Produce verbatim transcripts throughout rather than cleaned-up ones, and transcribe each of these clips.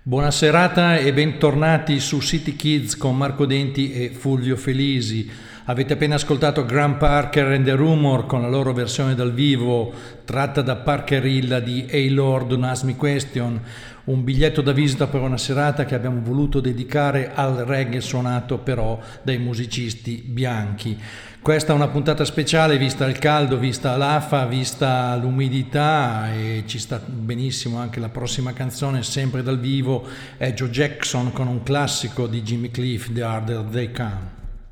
Buona serata e bentornati su City Kids con Marco Denti e Fulvio Felisi. Avete appena ascoltato Graham Parker and the Rumor con la loro versione dal vivo tratta da Parkerilla di Hey Lord, Don't Ask Me Question, un biglietto da visita per una serata che abbiamo voluto dedicare al reggae suonato però dai musicisti bianchi. Questa è una puntata speciale vista il caldo, vista l'afa, vista l'umidità, e ci sta benissimo anche la prossima canzone, sempre dal vivo, è Joe Jackson con un classico di Jimmy Cliff, The Harder They Come.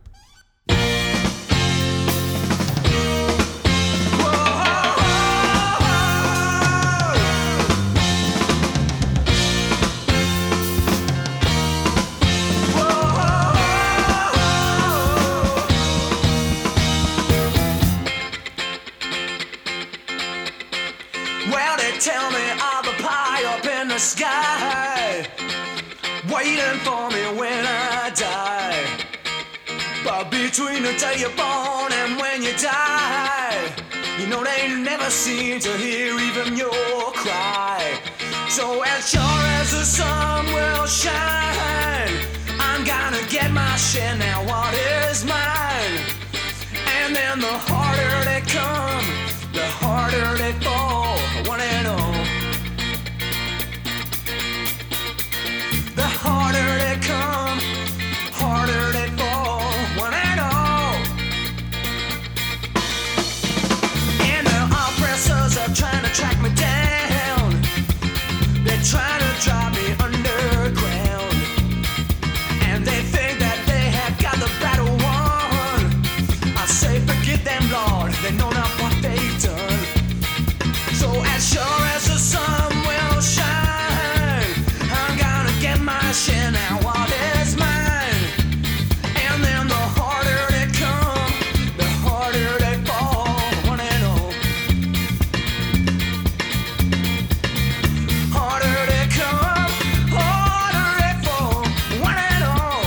Tell me of a pie up in the sky, waiting for me when I die. But between the day you're born and when you die, you know they never seem to hear even your cry. So as sure as the sun will shine, I'm gonna get my share now, what is mine? And then the harder they come, the harder they fall, one and all. The harder they come, harder they fall, one and all. And the oppressors are trying to track me down, they're trying to drive me underground, and they think that they have got the battle won. I say forget them, Lord, they know not what they've done. So as sure as the sun will shine, I'm gonna get my share now, what is mine? And then the harder they come, the harder they fall, one and all. Harder they come, harder they fall, one and all.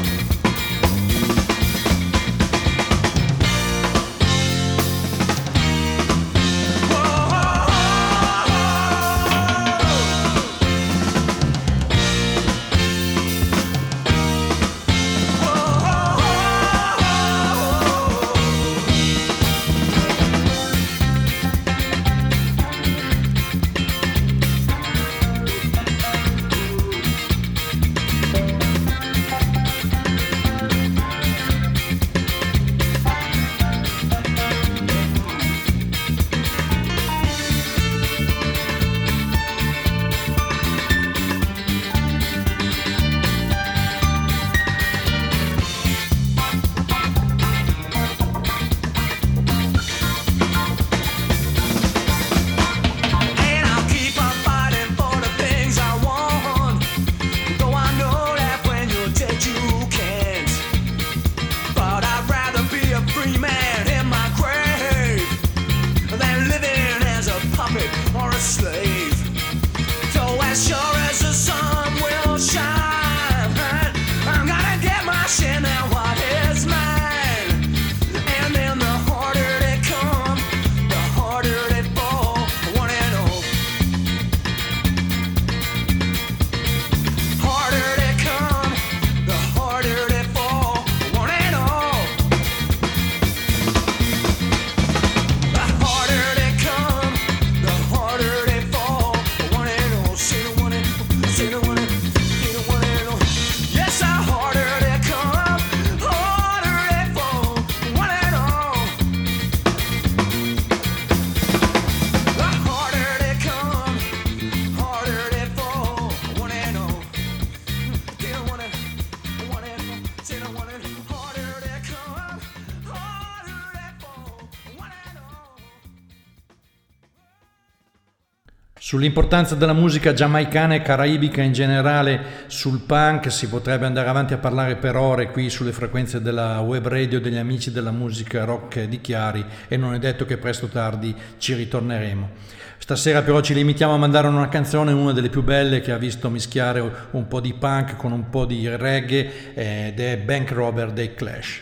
Sull'importanza della musica giamaicana e caraibica in generale, sul punk, si potrebbe andare avanti a parlare per ore qui sulle frequenze della web radio degli amici della musica rock di Chiari, e non è detto che presto o tardi ci ritorneremo. Stasera però ci limitiamo a mandare una canzone, una delle più belle, che ha visto mischiare un po' di punk con un po' di reggae, ed è Bank Robber dei Clash.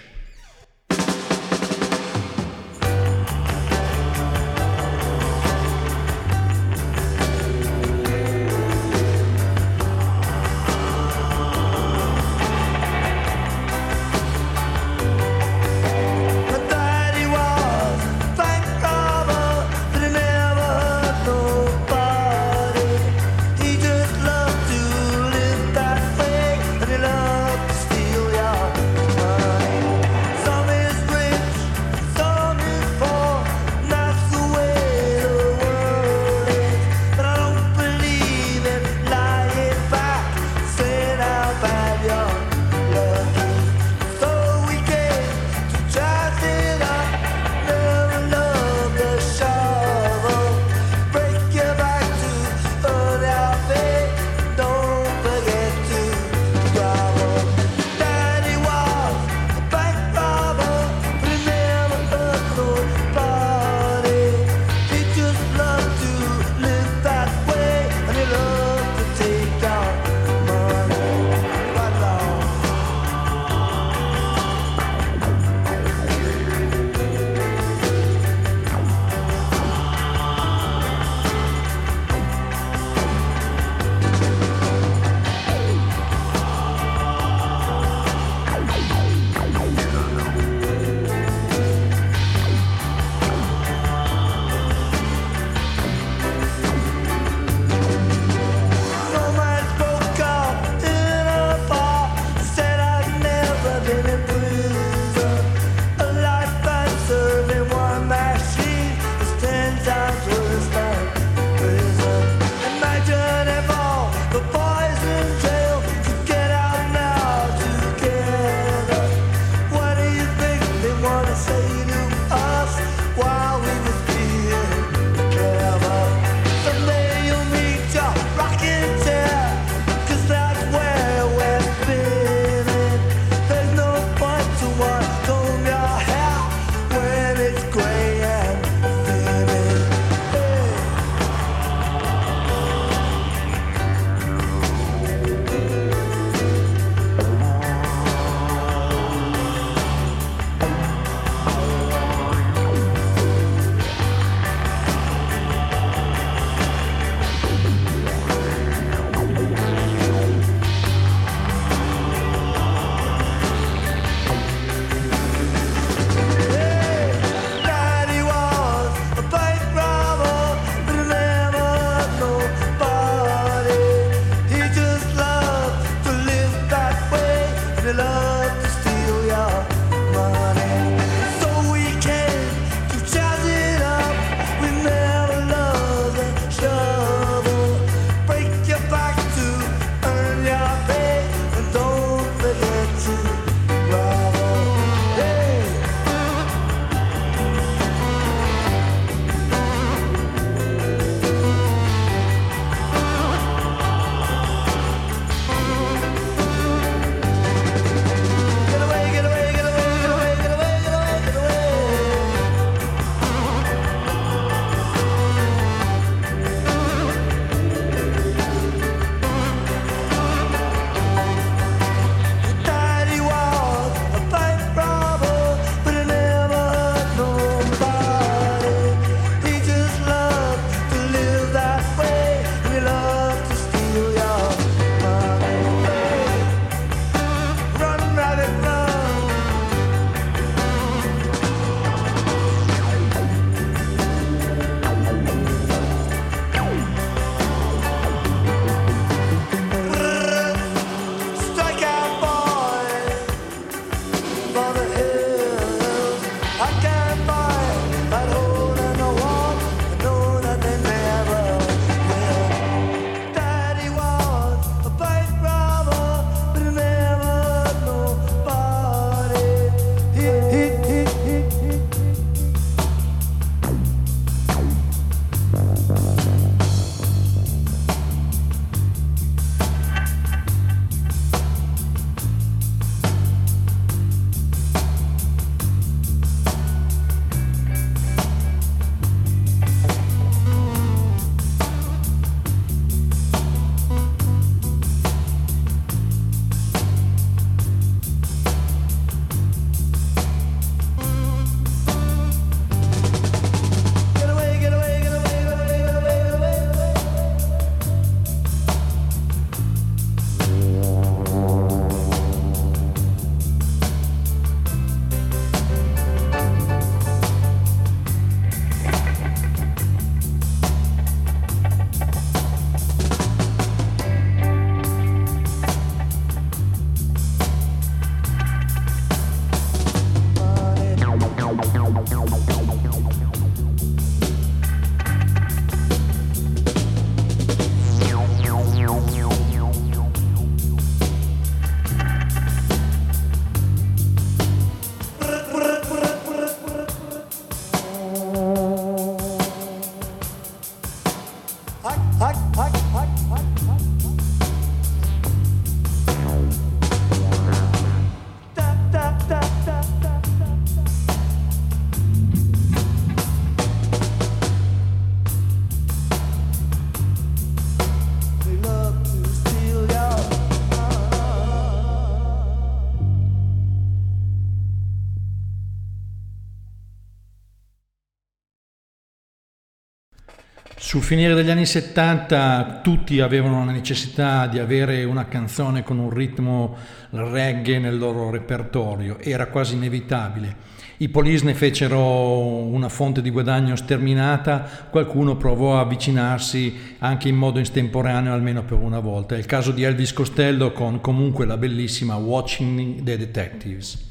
Sul finire degli anni settanta tutti avevano la necessità di avere una canzone con un ritmo reggae nel loro repertorio, era quasi inevitabile. I Police ne fecero una fonte di guadagno sterminata, qualcuno provò a avvicinarsi anche in modo estemporaneo almeno per una volta. È il caso di Elvis Costello con comunque la bellissima Watching the Detectives.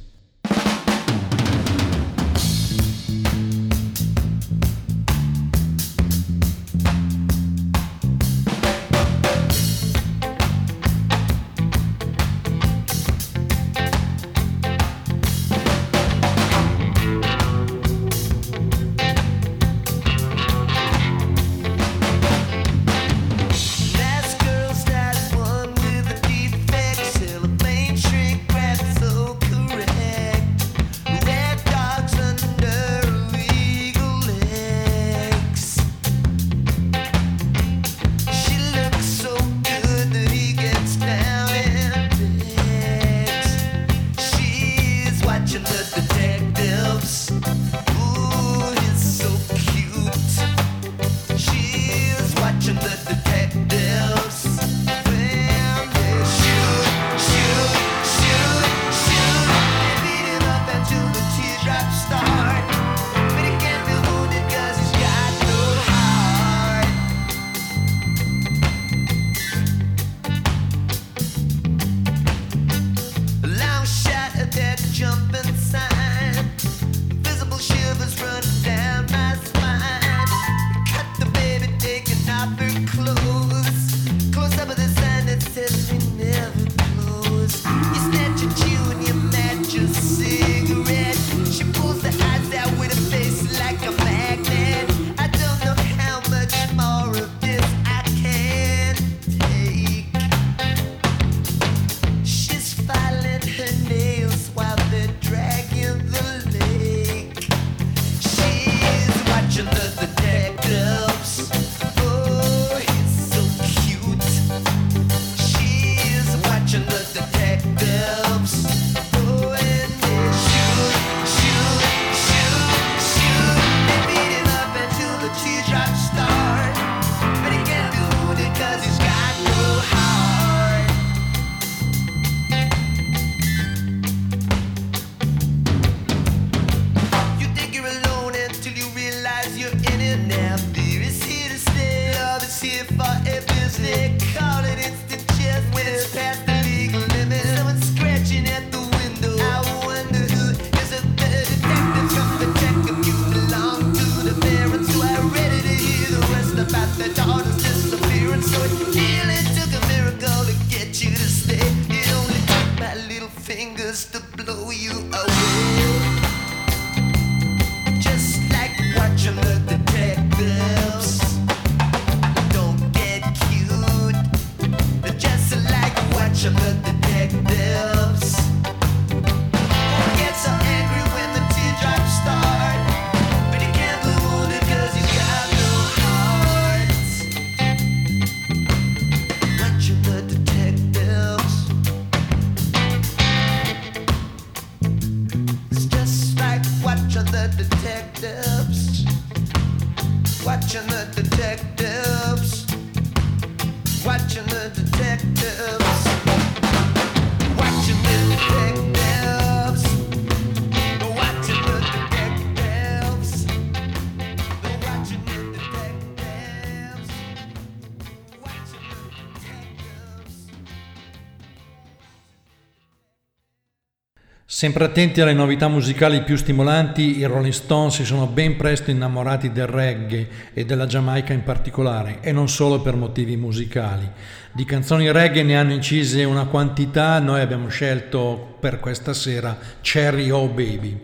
Sempre attenti alle novità musicali più stimolanti, i Rolling Stones si sono ben presto innamorati del reggae e della Giamaica in particolare, e non solo per motivi musicali. Di canzoni reggae ne hanno incise una quantità, noi abbiamo scelto per questa sera Cherry Oh Baby.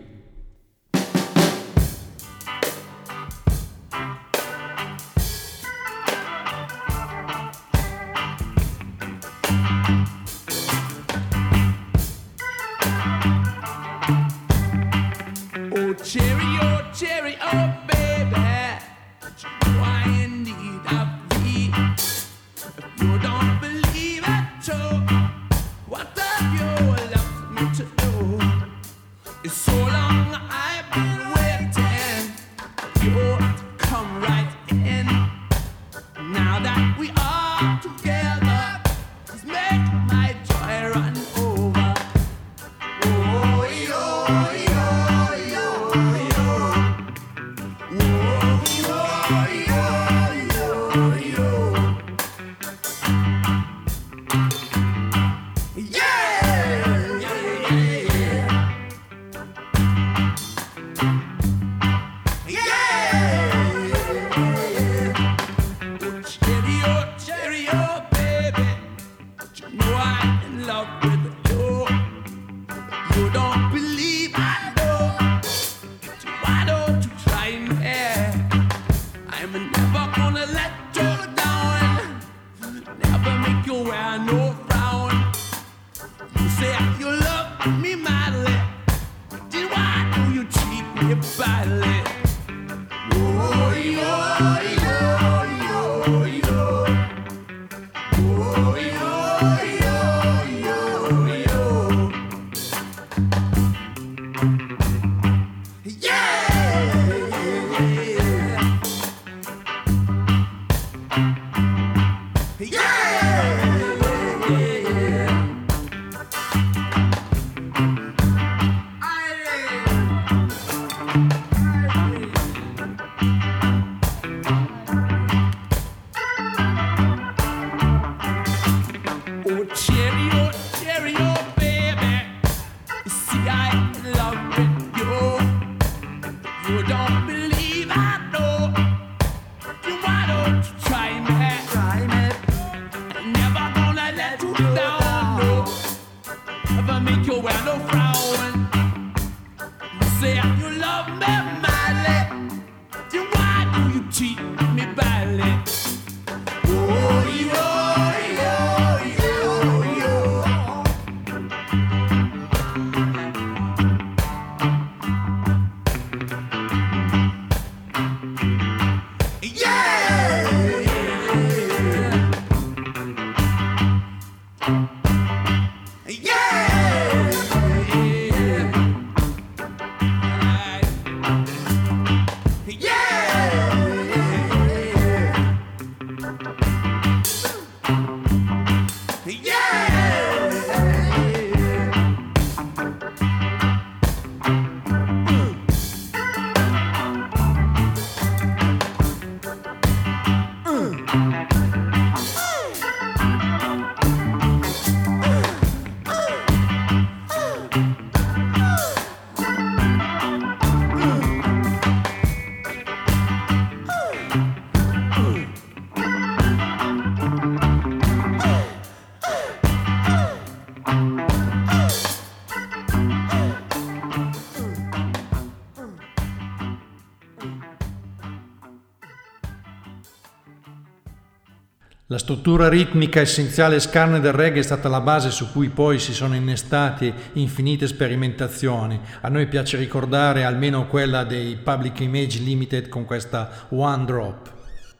in need of thee. If you don't believe it too, what have you left me to do? It's so long I've been waiting for you to come right in. Now that we are together, just make my joy run over. Oh, yo, yo, yo, yo. Oh, yo, yo, yo, yo. Yeah, yeah, yeah. Badly. Oh, yo, yo, yo, yo. Oh, yo, yo, yo, yo. Yeah, yeah, yeah, yeah. La struttura ritmica essenziale e scarne del reggae è stata la base su cui poi si sono innestate infinite sperimentazioni. A noi piace ricordare almeno quella dei Public Image Limited con questa One Drop.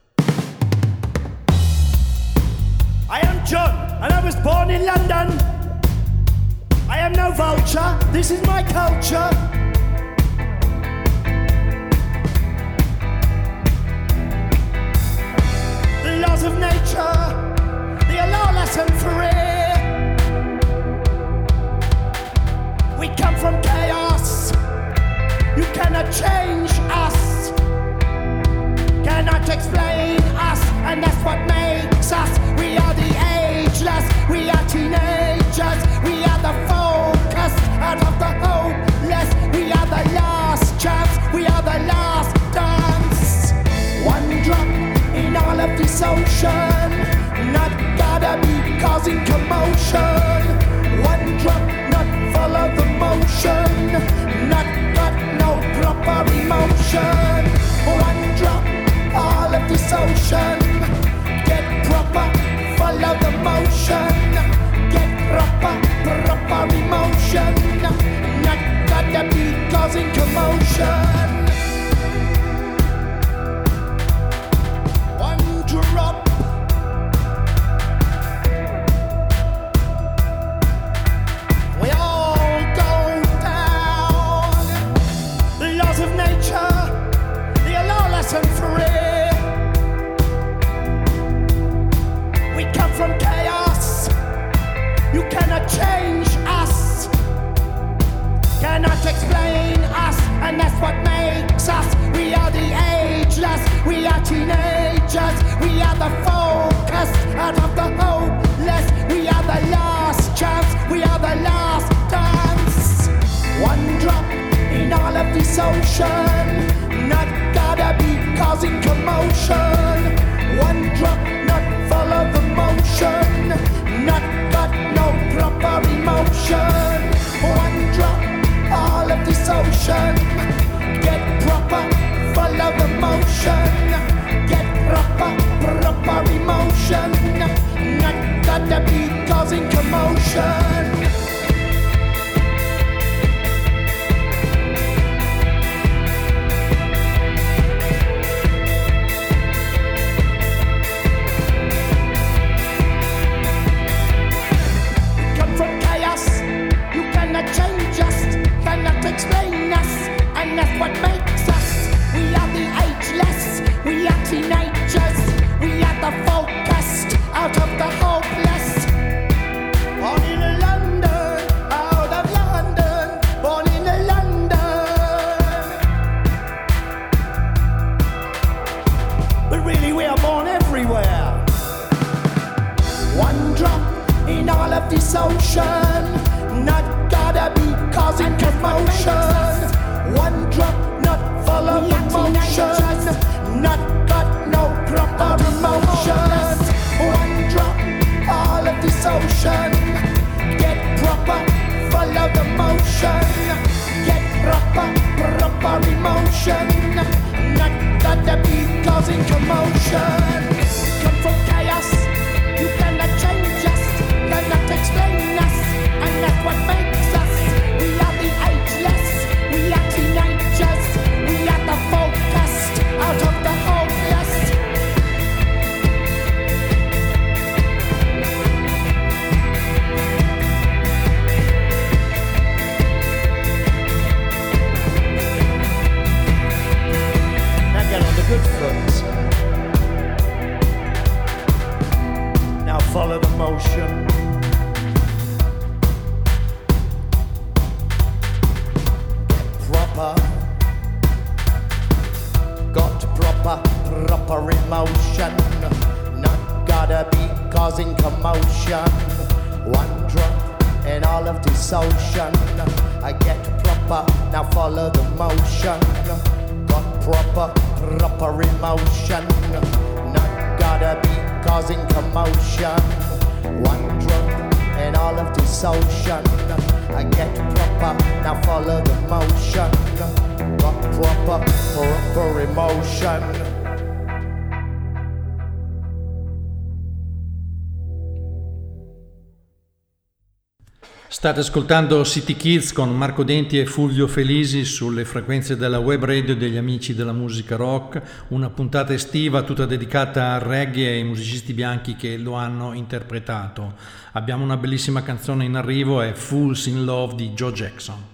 I am John and I was born in London. I am no vulture, this is my culture. The laws of nature, they allow lesson free. We come from chaos, you cannot change us, cannot explain us, and that's what makes us. We are the ageless, we are teenagers, we are the focused out of the hopeless, we are the last chance, we are the last dance. One drop in all of this ocean, not gotta be causing commotion. One drop, not follow the motion, not got no proper emotion. One drop, all of this ocean, get proper, follow the motion, get proper, proper emotion, not gotta be causing commotion. One are teenagers, we are the focus out of the hopeless. We are the last chance, we are the last dance. One drop in all of this ocean, not gotta be causing commotion. One drop, not follow the motion, not got no proper emotion. One drop, all of this ocean, get proper, follow the motion. Get proper, proper emotion, not gotta be causing commotion. Change us, cannot explain us, and that's what makes us. We are the ageless, we are teenagers, we are the focused, out of the hopeless. Born in London, out of London, born in London. But really we are born everywhere. One drop in all of this ocean, not gotta be causing commotion. One drop, not follow the motion, not got no proper emotion. One drop, all of this ocean, get proper, follow the motion. Get proper, proper emotion, not gotta be causing commotion. Come from chaos, you cannot change us, cannot explain us, and that's what makes us. We are the ageless, we are teenagers, we are the focused, out of the hopeless. Now get on the good foot. Now follow the motion. Got proper, proper emotion, not gotta be causing commotion. One drop in all of this ocean, I get proper, now follow the motion. Got proper, proper emotion, not gotta be causing commotion. One drop in all of this ocean, I get proper, now follow the motion. Got proper, proper emotion. State ascoltando City Kids con Marco Denti e Fulvio Felisi sulle frequenze della web radio degli amici della musica rock, una puntata estiva tutta dedicata al reggae e ai musicisti bianchi che lo hanno interpretato. Abbiamo una bellissima canzone in arrivo, è Fools in Love di Joe Jackson.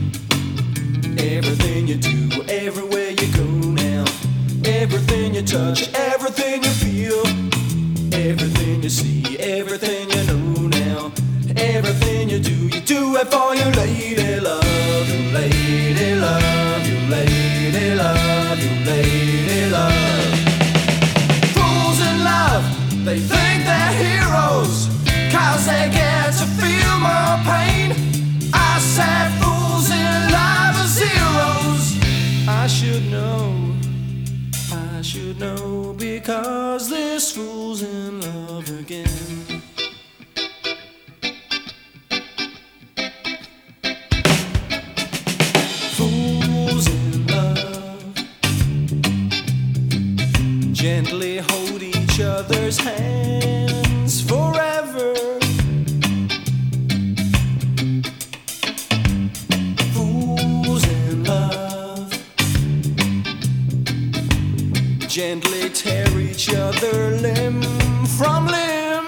Everything you touch, touch, everything you feel, everything you see, everything you know now. Everything you do, you do it for your lady love, your lady love, your lady love, your lady love. Fools in love, they think they're heroes, cause they get to feel more pain. I said fools in love are zeros. I should know, I should know, because this fool's in love again. Gently hold each other's hands forever. Fools in love. Gently tear each other limb from limb.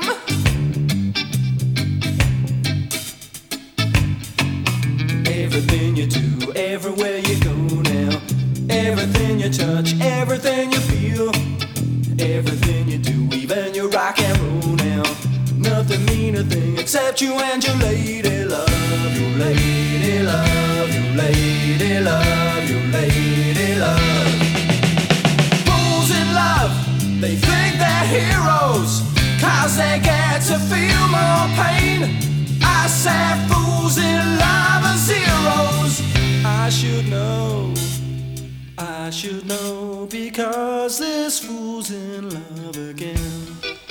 Everything you do, everywhere you go now. Everything you touch, everything you feel, everything you do, even your rock and roll now. Nothing mean a thing except you and your lady love, your lady love, your lady love, your lady love. Fools in love, they think they're heroes, cause they get to feel more pain. I said fools in love are zeros. I should know, I should know, because this fool's in love again.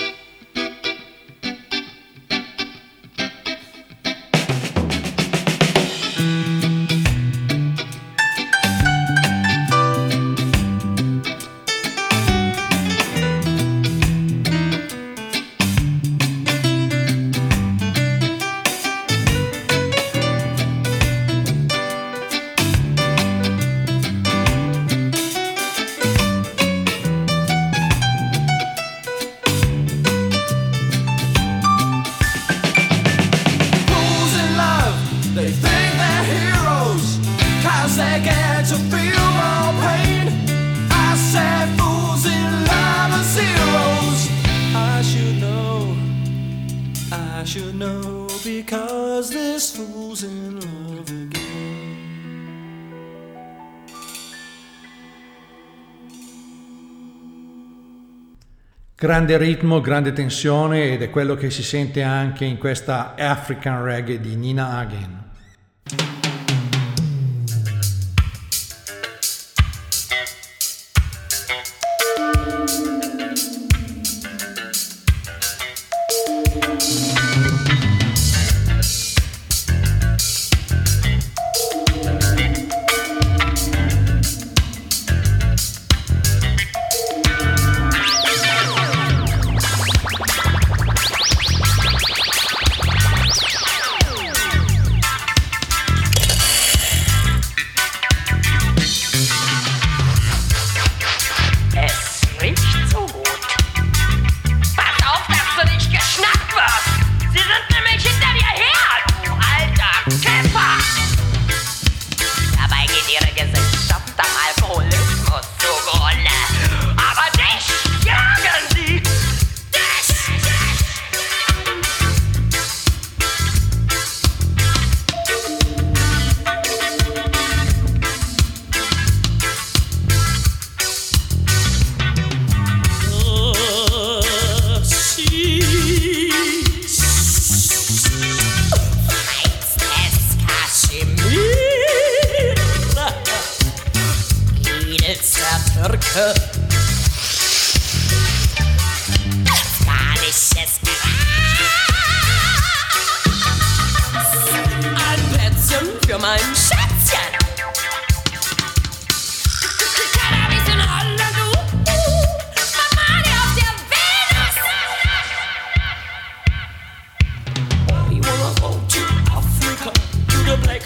Grande ritmo, grande tensione, ed è quello che si sente anche in questa African Reggae di Nina Hagen.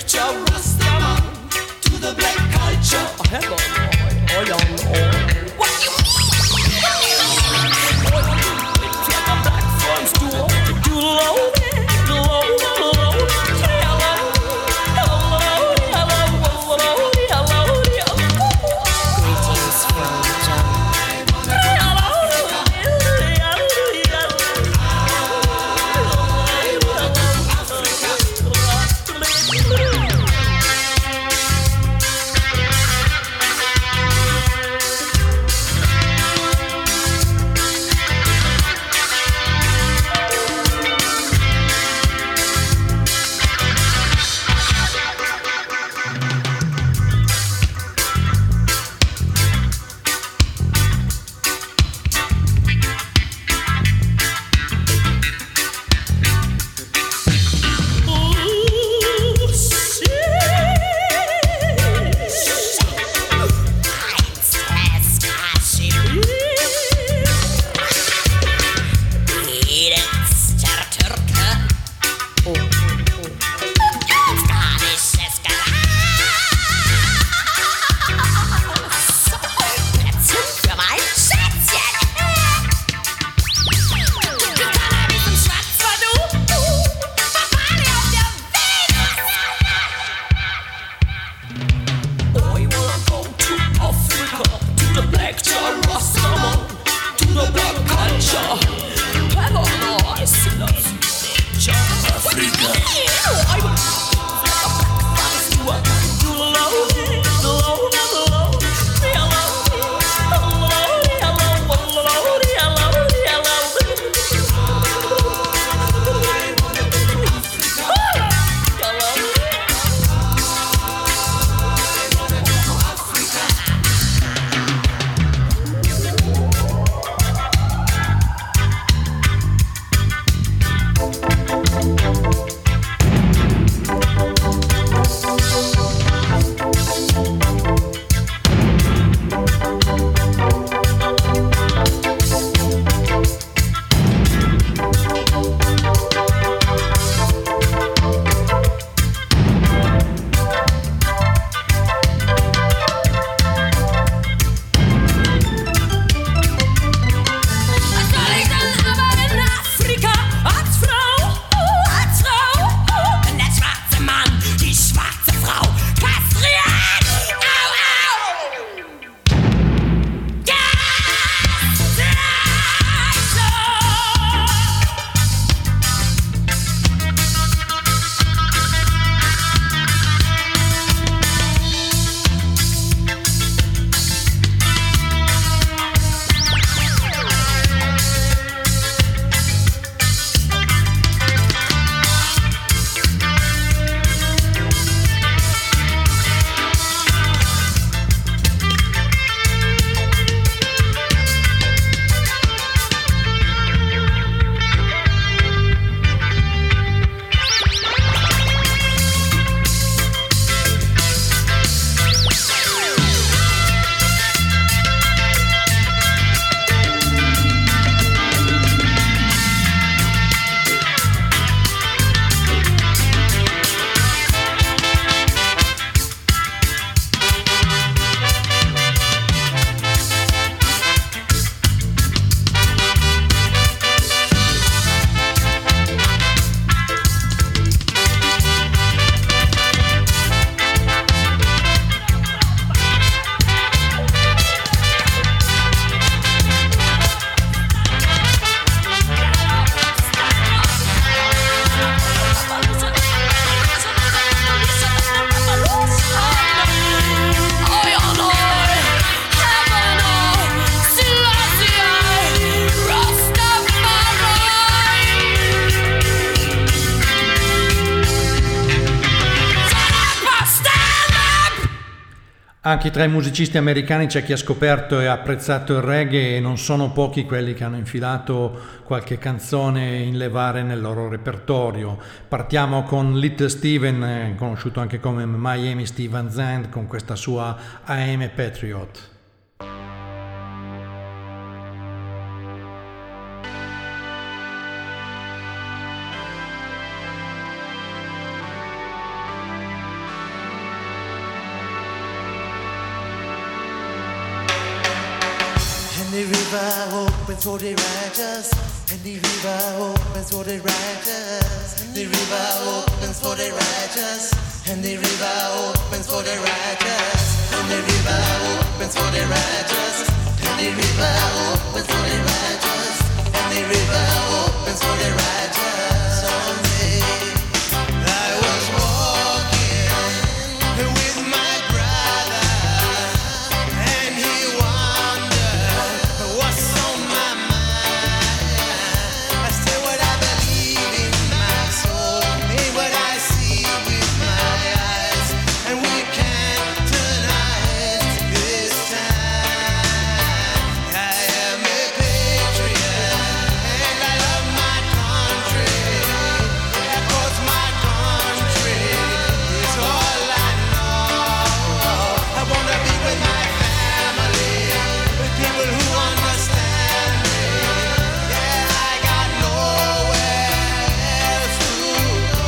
To the black culture. Oh, hello, oh, oh, oh. Anche tra i musicisti americani c'è chi ha scoperto e apprezzato il reggae e non sono pochi quelli che hanno infilato qualche canzone in levare nel loro repertorio. Partiamo con Little Steven, conosciuto anche come Miami Steven Zand, con questa sua I Am a Patriot. And the river opens for the righteous. And the river opens for the righteous. And the river opens for the righteous. And the river opens for the righteous. And the river opens for the righteous. And the river opens for the righteous. And the river opens for the righteous. Someday I was walking with my brother, and he wondered what's on my mind. I say what I believe in my soul, ain't what I see with my eyes, and we can't deny it this time. I am a patriot, and I love my country, yeah, 'cause my country is all I know. I wanna be with my family, with people who understand me. Yeah, I got nowhere else to go.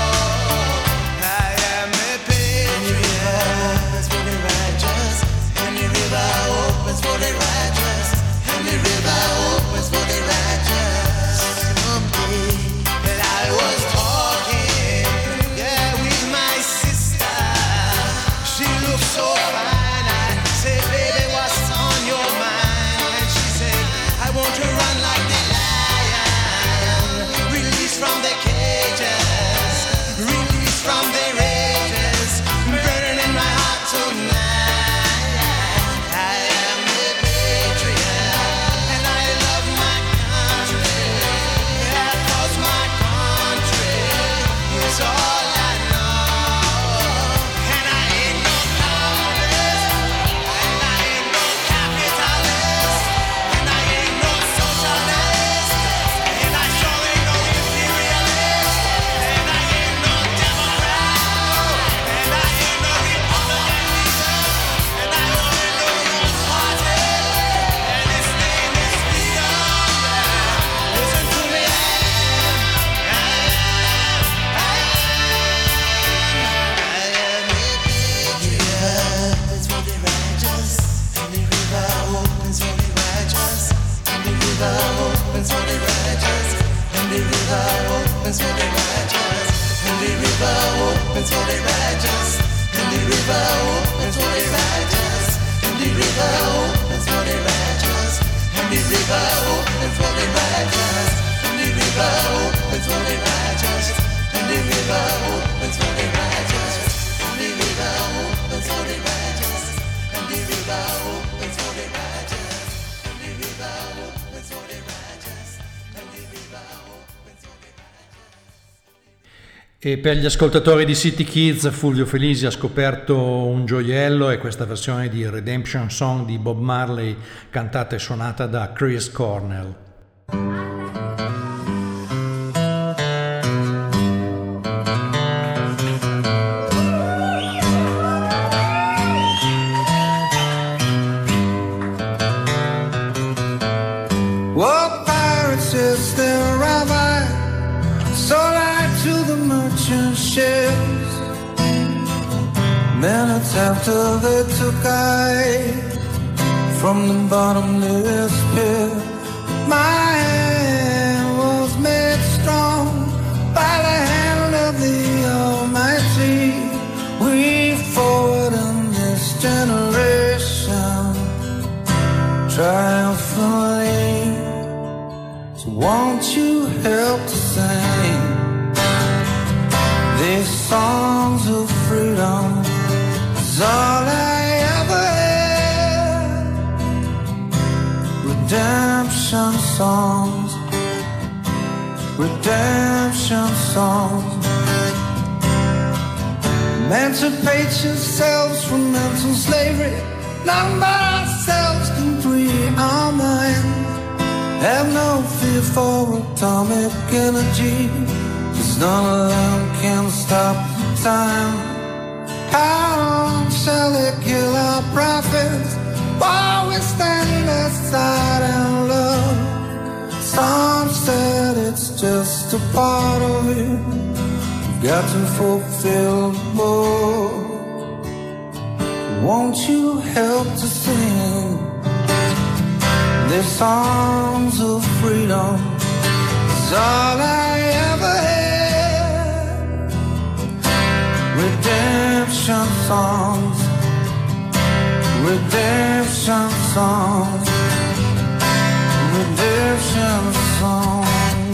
I am a patriot. And the river opens for the righteous. And the river opens for the righteous. And the river opens for the righteous. Someday that I was talking, yeah, with my sister. She looked so fine. I said, baby, what's on your mind? And she said, I want to run like the lion, released from the cages, released from the rages, burning in my heart tonight. I am a patriot, and I love my country, yeah, 'cause my country is all I know. And I ain't no communist, and I ain't no capitalist, and I ain't no socialist, and I sure ain't no imperialist, and I ain't no Democrat, and I ain't no Republican either, and I only know one party, and his name is freedom. Listen to me, I am, I am, I am a patriot. Opens for the righteous, and the river opens for the righteous, and the river opens for the righteous, and the river opens for the righteous, and the river opens for the righteous, and the river opens for the righteous, and the river opens for the righteous, and the river opens for the righteous, and the river opens for the righteous, and the river opens for the righteous, and the river opens for the righteous, and the river opens for the righteous, and the river opens for the righteous, and the river opens for the righteous. E per gli ascoltatori di City Kids, Fulvio Felisi ha scoperto un gioiello, e questa versione di Redemption Song di Bob Marley, cantata e suonata da Chris Cornell. What pirates is there have I sold I to the merchant ships? Minutes after they took I from the bottomless pit, my hand was made strong by the hand of the Almighty. We forward in this generation triumphantly. So won't you help to sing these songs of freedom? Is all I ever had. Redemption songs, redemption songs. Emancipate yourselves from mental slavery. None but ourselves can free our minds. Have no fear for atomic energy, 'cause none of them can stop time. How long shall they kill our prophets while we stand aside and love? Some said it's just a part of it. We've got to fulfill more. Won't you help to sing these songs of freedom? It's all I ever had. Redemption songs, redemption songs, redemption songs.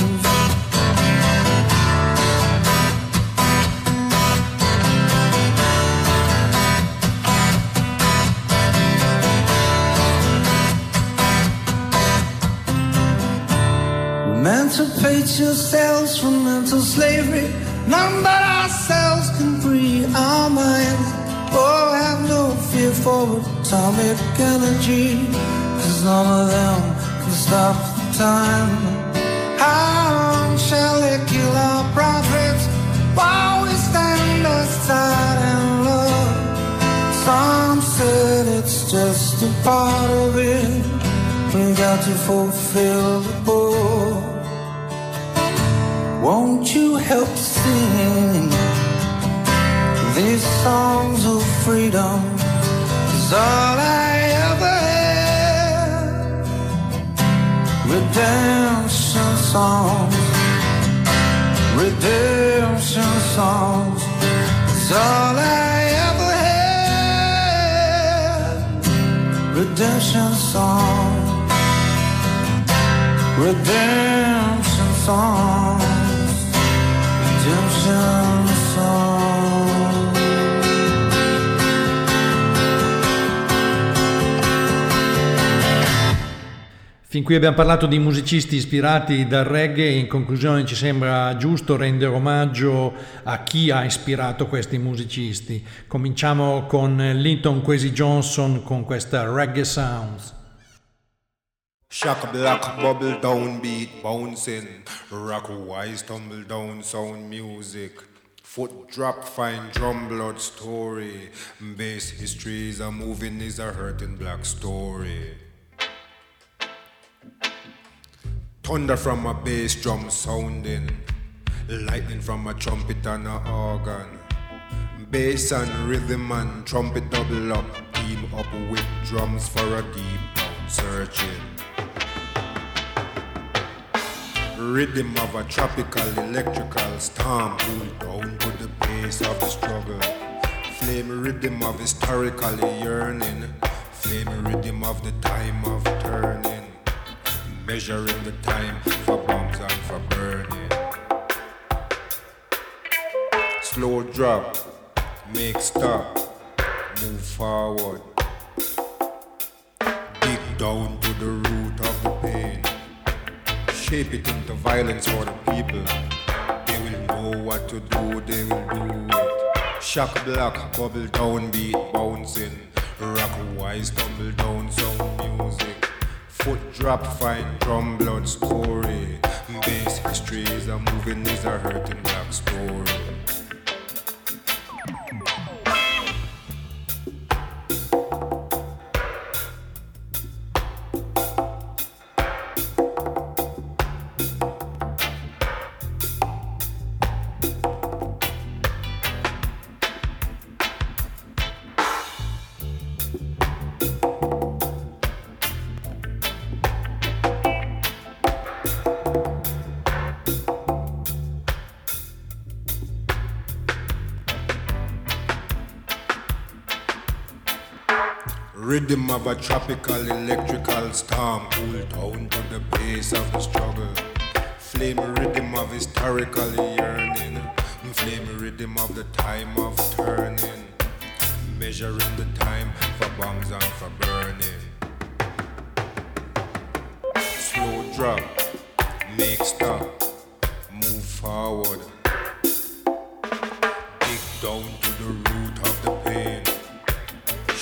Emancipate yourselves from mental slavery. None but ourselves can free our minds. Oh, have no fear for atomic energy, 'cause none of them can stop the time. How long shall they kill our prophets while we stand aside and love? Some said it's just a part of it. We got to fulfill the book. Won't you help sing these songs of freedom? 'Cause all I ever had. Redemption songs, redemption songs. 'Cause all I ever had. Redemption songs, redemption songs. Redemption song. Fin qui abbiamo parlato di musicisti ispirati dal reggae e in conclusione ci sembra giusto rendere omaggio a chi ha ispirato questi musicisti. Cominciamo con Linton Kwesi Johnson con questa Reggae Sounds. Shock black bubble down beat bouncing, rock wise tumble down sound music, foot drop fine drum blood story, bass history is a moving is a hurting black story. Thunder from a bass drum sounding, lightning from a trumpet and a organ, bass and rhythm and trumpet double up, team up with drums for a deep down searching. Rhythm of a tropical electrical storm, pull down to the pace of the struggle. Flame rhythm of historically yearning, flame rhythm of the time of turning, measuring the time for bombs and for burning. Slow drop, make stop, move forward, dig down to the root of the pain. Shape it into violence for the people. They will know what to do, they will do it. Shock black, bubble down beat bouncing, rock wise tumble down sound music, foot drop fine drum blood story, bass history is a moving is a hurting black story. Rhythm of a tropical electrical storm, cool down to the pace of the struggle. Flame rhythm of historical yearning, flame rhythm of the time of turning, measuring the time for bombs and for burning. Slow drop, make stop, move forward, dig down to the root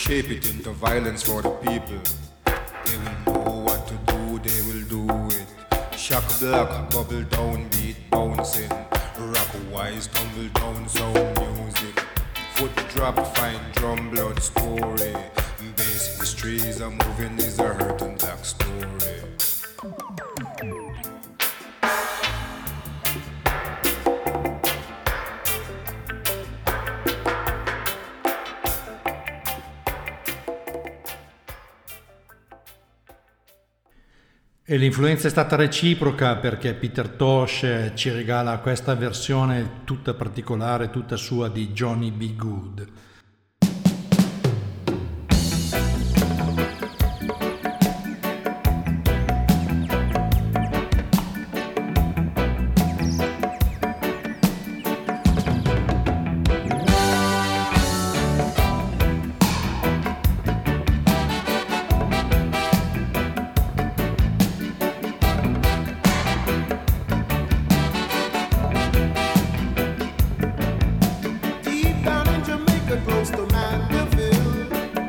shape it into violence for the people. They will know what to do, they will do it. Shock block, bubble down, beat bouncing. Rock wise, tumble down, sound music. Foot drop, fine drum, blood story. Bass histories are moving, is a hurting black story. E l'influenza è stata reciproca perché Peter Tosh ci regala questa versione tutta particolare, tutta sua di Johnny B. Good. Deep down in Jamaica, close to Mandeville.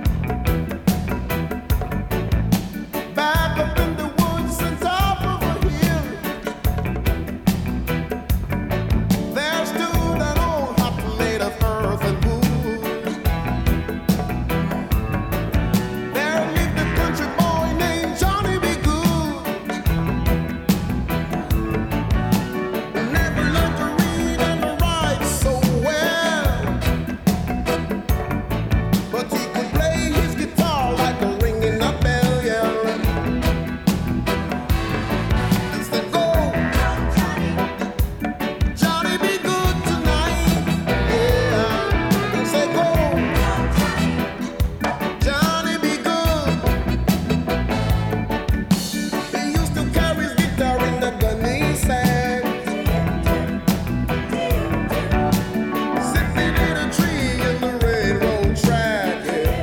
Back up in the woods and top of a hill, there stood an old hut made of earth and wood. There lived a country boy named Johnny B. Good. Never learned to read and to write so well, but he could play his guitar like a ringing a bell, yeah. And said, "Go, Johnny, be good tonight," yeah. And said, "Go, Johnny, be good." He used to carry his guitar in the gunny sack, sitting in a tree in the railroad track,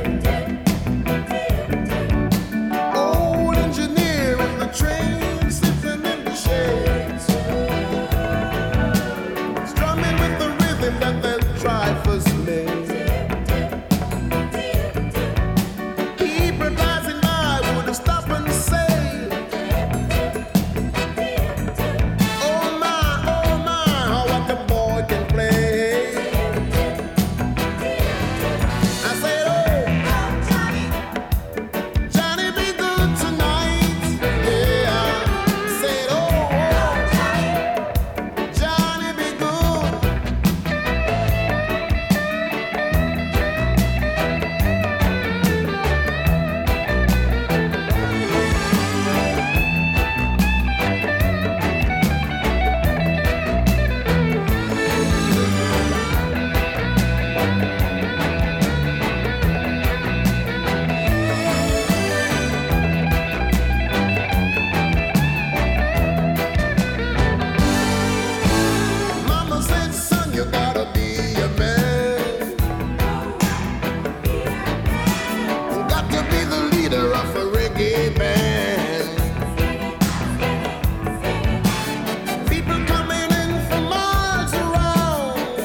yeah. Old engineer in the train, sitting in the shades, strumming with the rhythm that the drivers made. People passing by would stop and say, "Oh my, oh my, how what the boy can play." I said, "Oh, Johnny, be good tonight," yeah. I said, "Oh, Johnny, be good." Mama said, "Son, you gotta be a man. You got to be the leader of a reggae band. People coming in from miles around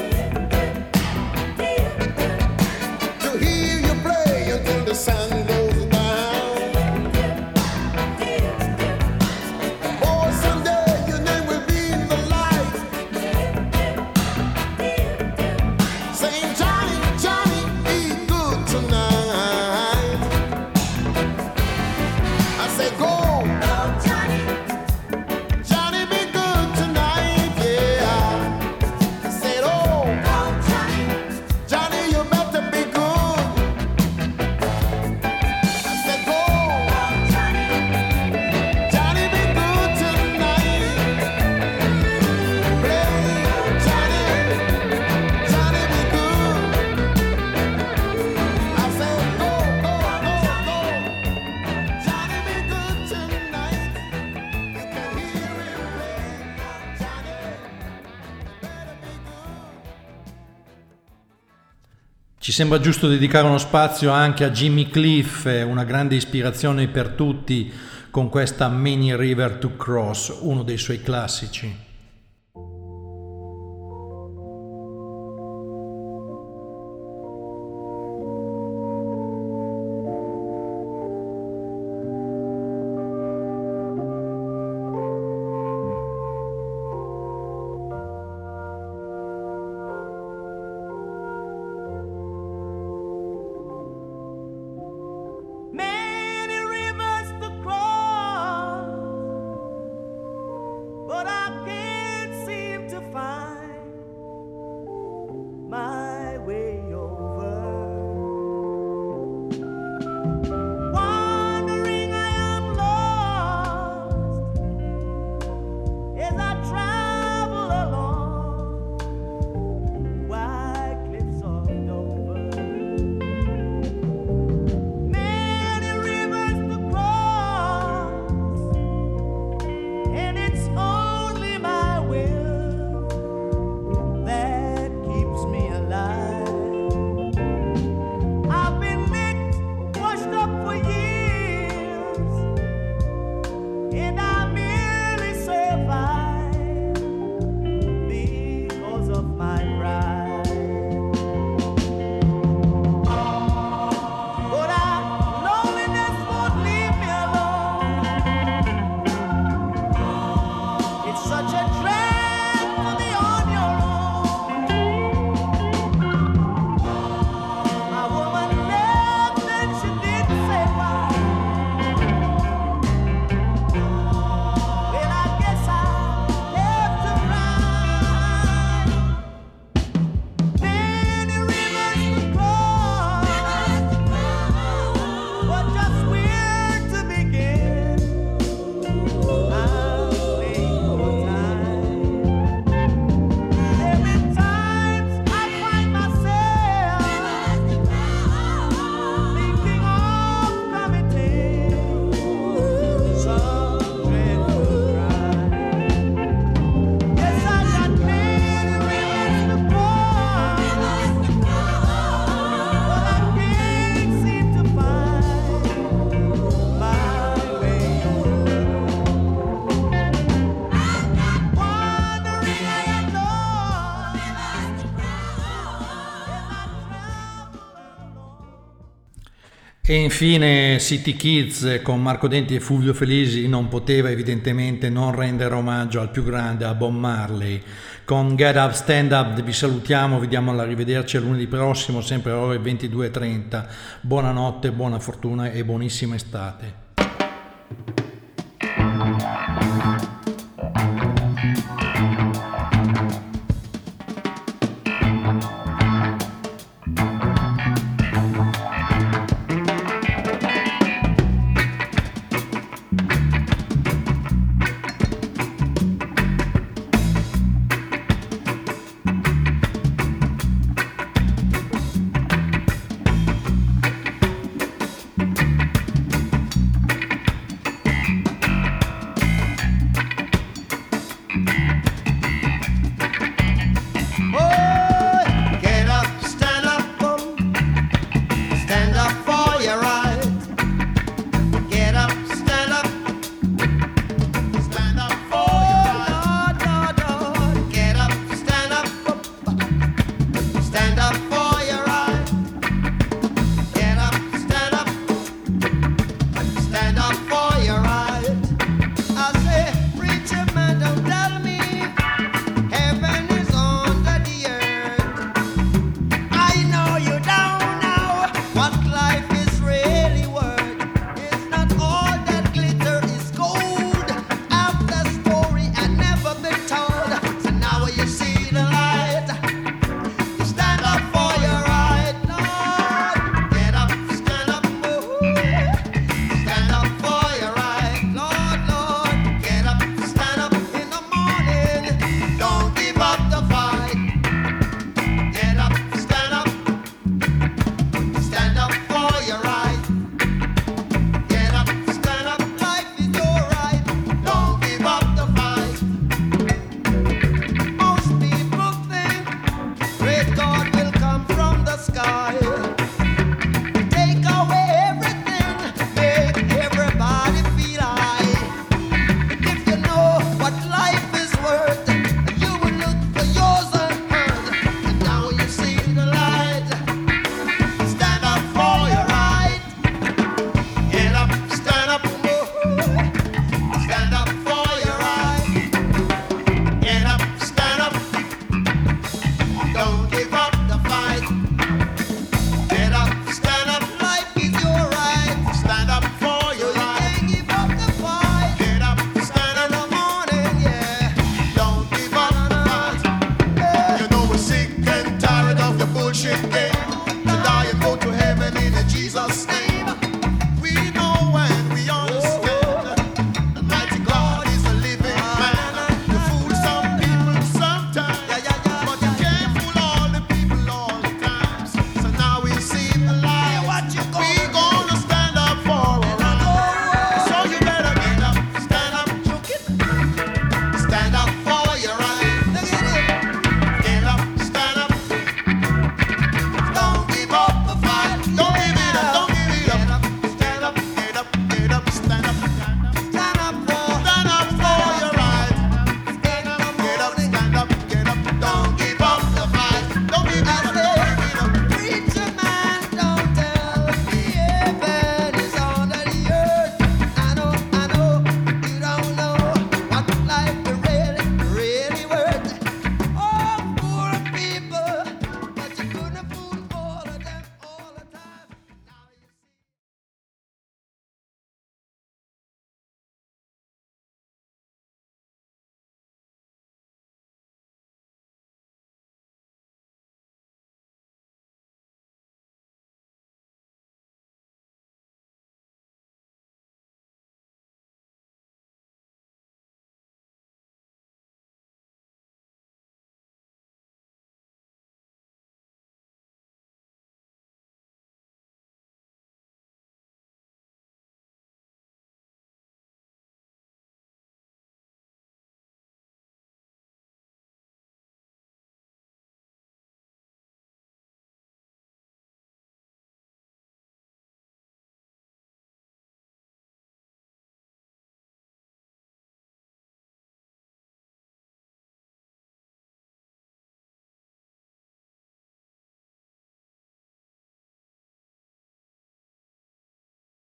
to hear you play until the sun goes down. Oh, someday your name will be in the light, saying, "Johnny, Johnny, be good tonight." I say, "Go, Johnny, be good tonight," yeah. I said, "Oh, Johnny, you better be good." I said, "Go, Johnny, be good tonight. Play, Johnny, Johnny, be good." I said, "Go, go, go, go, Johnny, be good tonight." You can hear him play, Johnny, better be good. Ci sembra giusto dedicare uno spazio anche a Jimmy Cliff, una grande ispirazione per tutti con questa Many River to Cross, uno dei suoi classici. E infine City Kids con Marco Denti e Fulvio Felisi non poteva evidentemente non rendere omaggio al più grande, a Bob Marley. Con Get Up Stand Up vi salutiamo, vi diamo l'arrivederci a lunedì prossimo, sempre alle ore ventidue e trenta. Buonanotte, buona fortuna e buonissima estate. Bye.